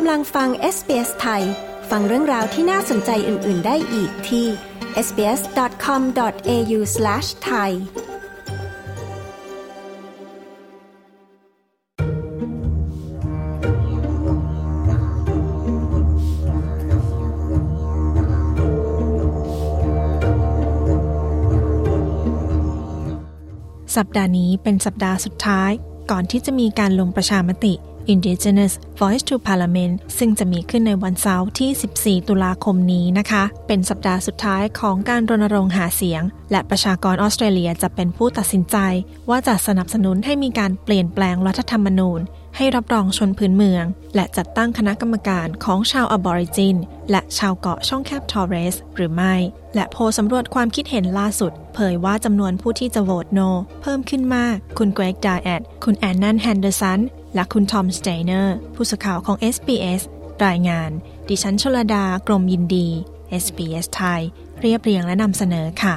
กำลังฟัง SBS ไทยฟังเรื่องราวที่น่าสนใจอื่นๆได้อีกที่ sbs.com.au/thai สัปดาห์นี้เป็นสัปดาห์สุดท้ายก่อนที่จะมีการลงประชามติ Indigenous Voice to Parliament ซึ่งจะมีขึ้นในวันเสาร์ที่14ตุลาคมนี้นะคะเป็นสัปดาห์สุดท้ายของการรณรงค์หาเสียงและประชากรออสเตรเลียจะเป็นผู้ตัดสินใจว่าจะสนับสนุนให้มีการเปลี่ยนแปลงรัฐธรรมนูญให้รับรองชนพื้นเมืองและจัดตั้งคณะกรรมการของชาวอบอริจินและชาวเกาะช่องแคบทอร์เรสหรือไม่และโพลสำรวจความคิดเห็นล่าสุดเผยว่าจำนวนผู้ที่จะโหวตโนเพิ่มขึ้นมากคุณเกรก ไดแอดคุณแอนนัน แฮนเดอร์สันและคุณทอม สเตเนอร์ผู้สื่อข่าวของ SBS รายงานดิฉันชลดากรมยินดี SBS ไทยเรียบเรียงและนำเสนอค่ะ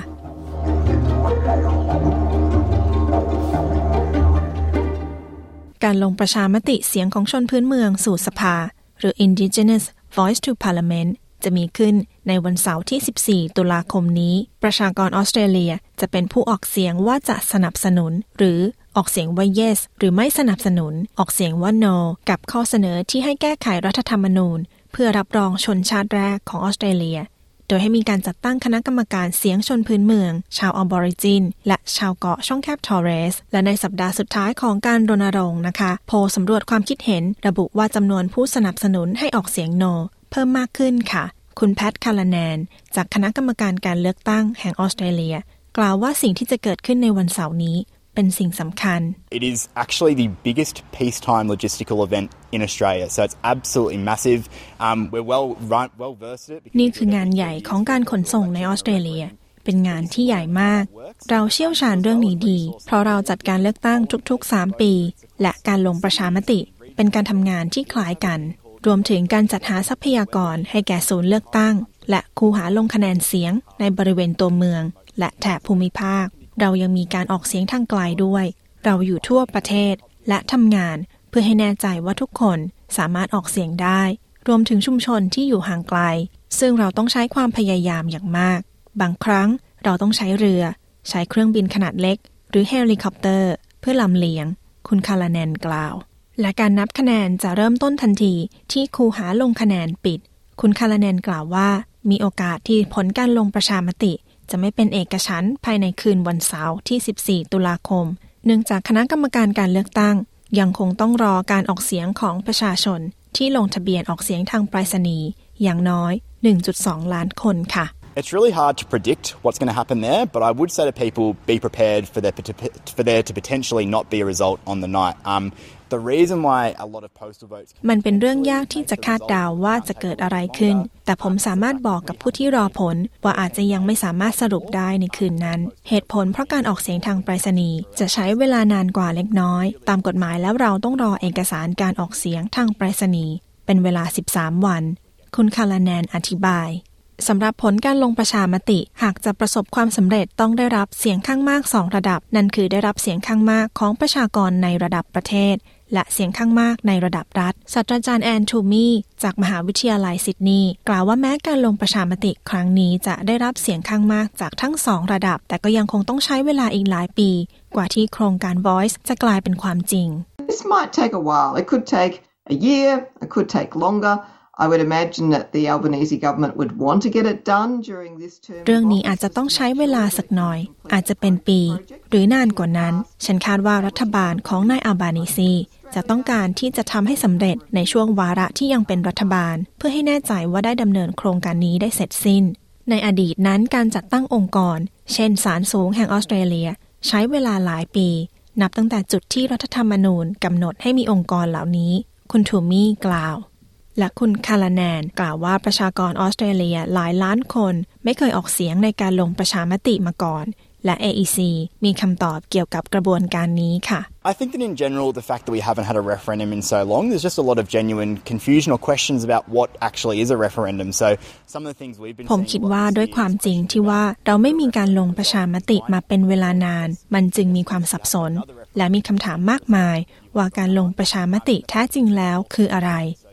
การลงประชามติเสียงของชนพื้นเมืองสู่สภาหรือ Indigenous Voice to Parliament จะมีขึ้นในวันเสาร์ที่14ตุลาคมนี้ประชากรออสเตรเลียจะเป็นผู้ออกเสียงว่าจะสนับสนุนหรือออกเสียงว่า yes หรือไม่สนับสนุนออกเสียงว่า no กับข้อเสนอที่ให้แก้ไขรัฐธรรมนูญเพื่อรับรองชนชาติแรกของออสเตรเลียโดยให้มีการจัดตั้งคณะกรรมการเสียงชนพื้นเมืองชาวอบอริจินและชาวเกาะช่องแคบทอร์เรสและในสัปดาห์สุดท้ายของการรณรงค์นะคะโพลสำรวจความคิดเห็นระบุว่าจำนวนผู้สนับสนุนให้ออกเสียง no เพิ่มมากขึ้นค่ะคุณแพท คาลาแนนจากคณะกรรมการการเลือกตั้งแห่งออสเตรเลียกล่าวว่าสิ่งที่จะเกิดขึ้นในวันเสาร์นี้เป็นสิ่งสำคัญ It is actually the biggest peacetime logistical event in Australia, so it's absolutely massive. We're well versed in it. นี่คืองานใหญ่ของการขนส่งในออสเตรเลียเป็นงานที่ใหญ่มากเราเชี่ยวชาญเรื่องนี้ดีเพราะเราจัดการเลือกตั้งทุกๆ3ปีและการลงประชามติเป็นการทำงานที่คล้ายกันรวมถึงการจัดหาทรัพยากรให้แก่ศูนย์เลือกตั้งและคูหาลงคะแนนเสียงในบริเวณตัวเมืองและแถบภูมิภาคเรายังมีการออกเสียงทางไกลด้วยเราอยู่ทั่วประเทศและทำงานเพื่อให้แน่ใจว่าทุกคนสามารถออกเสียงได้รวมถึงชุมชนที่อยู่ห่างไกลซึ่งเราต้องใช้ความพยายามอย่างมากบางครั้งเราต้องใช้เรือใช้เครื่องบินขนาดเล็กหรือเฮลิคอปเตอร์เพื่อลำเลียงคุณคาลาแนนกล่าวและการนับคะแนนจะเริ่มต้นทันทีที่คูหาลงคะแนนปิดคุณคาลาแนนกล่าวว่ามีโอกาสที่ผลการลงประชามติจะไม่เป็นเอกฉันท์ภายในคืนวันเสาร์ที่14ตุลาคมเนื่องจากคณะกรรมการการเลือกตั้งยังคงต้องรอการออกเสียงของประชาชนที่ลงทะเบียนออกเสียงทางไปรษณีย์อย่างน้อย 1.2 ล้านคนค่ะ It's really hard to predict what's going to happen there, but I would say to people be prepared for there to potentially not be a result on the night. The reason why a lot of postal votes มันเป็นเรื่องยากที่จะคาดเดาว่าจะเกิดอะไรขึ้นแต่ผมสามารถบอกกับผู้ที่รอผลว่าอาจจะยังไม่สามารถสรุปได้ในคืนนั้นเหตุผลเพราะการออกเสียงทางไปรษณีย์จะใช้เวลานานกว่าเล็กน้อยตามกฎหมายแล้วเราต้องรอเอกสารการออกเสียงทางไปรษณีย์เป็นเวลา13วันคุณคาลาแนนอธิบายสำหรับผลการลงประชามติหากจะประสบความสำเร็จต้องได้รับเสียงข้างมาก2ระดับนั่นคือได้รับเสียงข้างมากของประชากรในระดับประเทศและเสียงข้างมากในระดับรัฐศาสตราจารย์แอนทูมี่จากมหาวิทยาลัยซิดนีย์กล่าวว่าแม้การลงประชามติครั้งนี้จะได้รับเสียงข้างมากจากทั้ง2ระดับแต่ก็ยังคงต้องใช้เวลาอีกหลายปีกว่าที่โครงการ Voice จะกลายเป็นความจริง This might take a while. It could take a year, it could take longer.I would imagine that the Albanese government would want to get it done during this term. เรื่องนี้อาจจะต้องใช้เวลาสักหน่อยอาจจะเป็นปีหรือนานกว่านั้นฉันคาดว่ารัฐบาลของนายอัลบานีซีจะต้องการที่จะทำให้สำเร็จในช่วงวาระที่ยังเป็นรัฐบาลเพื่อให้แน่ใจว่าได้ดำเนินโครงการนี้ได้เสร็จสิ้นในอดีตนั้นการจัดตั้งองค์กรเช่นศาลสูงแห่งออสเตรเลียใช้เวลาหลายปีนับตั้งแต่จุดที่รัฐธรรมนูญกำหนดให้มีองค์กรเหล่านี้คุณทูมี่กล่าวและคุณคาลาแนนกล่าวว่าประชากรออสเตรเลียหลายล้านคนไม่เคยออกเสียงในการลงประชามติมาก่อนและ AEC มีคำตอบเกี่ยวกับกระบวนการนี้ค่ะ I think that in general the fact that we haven't had a referendum in so long there's just a lot of genuine confusion or questions about what actually is a referendum so some of the things we've been ผมคิดว่าด้วยความจริงที่ว่าเราไม่มีการลงประชามติมาเป็นเวลานานมันจึงมีความสับสนและมีคำถามมากมายว่าการลงประชามติแท้จริงแล้วคืออะไร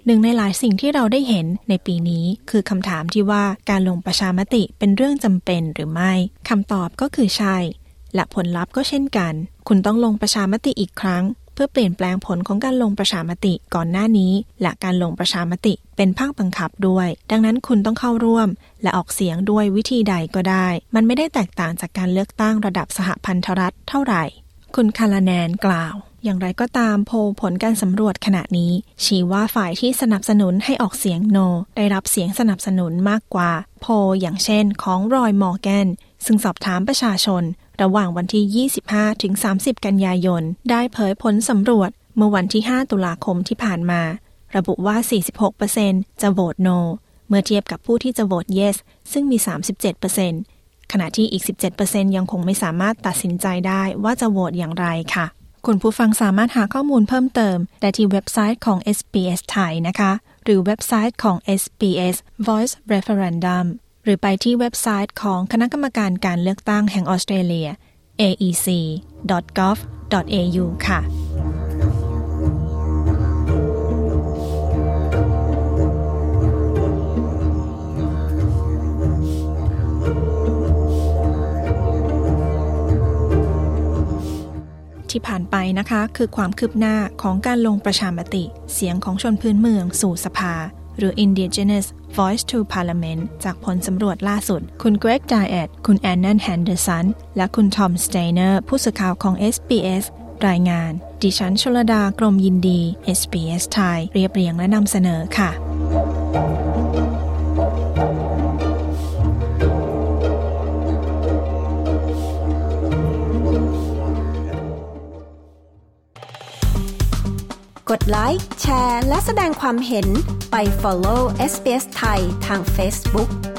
หนึ่งในหลายสิ่งที่เราได้เห็นในปีนี้คือคำถามที่ว่าการลงประชามติเป็นเรื่องจำเป็นหรือไม่คำตอบก็คือใช่และผลลัพธ์ก็เช่นกันคุณต้องลงประชามติอีกครั้งเพื่อเปลี่ยนแปลงผลของการลงประชามติก่อนหน้านี้และการลงประชามติเป็นภาคบังคับด้วยดังนั้นคุณต้องเข้าร่วมและออกเสียงด้วยวิธีใดก็ได้มันไม่ได้แตกต่างจากการเลือกตั้งระดับสหพันธรัฐเท่าไหร่คุณคาลาแนนกล่าวอย่างไรก็ตามโพลผลการสำรวจขณะนี้ชี้ว่าฝ่ายที่สนับสนุนให้ออกเสียง No ได้รับเสียงสนับสนุนมากกว่าโพลอย่างเช่นของรอยมอร์แกนซึ่งสอบถามประชาชนระหว่างวันที่ 25 ถึง 30 กันยายนได้เผยผลสำรวจเมื่อวันที่ 5 ตุลาคมที่ผ่านมาระบุว่า 46% จะโหวต No เมื่อเทียบกับผู้ที่จะโหวต Yes ซึ่งมี 37%ขณะที่อีก 17% ยังคงไม่สามารถตัดสินใจได้ว่าจะโหวตอย่างไรค่ะคุณผู้ฟังสามารถหาข้อมูลเพิ่มเติมได้ที่เว็บไซต์ของ SBS ไทยนะคะหรือเว็บไซต์ของ SBS Voice Referendum หรือไปที่เว็บไซต์ของคณะกรรมการการเลือกตั้งแห่งออสเตรเลีย aec.gov.au ค่ะที่ผ่านไปนะคะคือความคืบหน้าของการลงประชามติเสียงของชนพื้นเมืองสู่สภาหรือ Indigenous Voice to Parliament จากผลสำรวจล่าสุดคุณเกรก ไดแอดคุณแอนนัน แฮนเดอร์สันและคุณทอม สเตเนอร์ผู้สื่อข่าวของ SBS รายงานดิฉันชลดากรมยินดี SBS ไทยเรียบเรียงและนำเสนอค่ะกดไลค์แชร์และแสดงความเห็นไป follow SBS ไทยทาง Facebook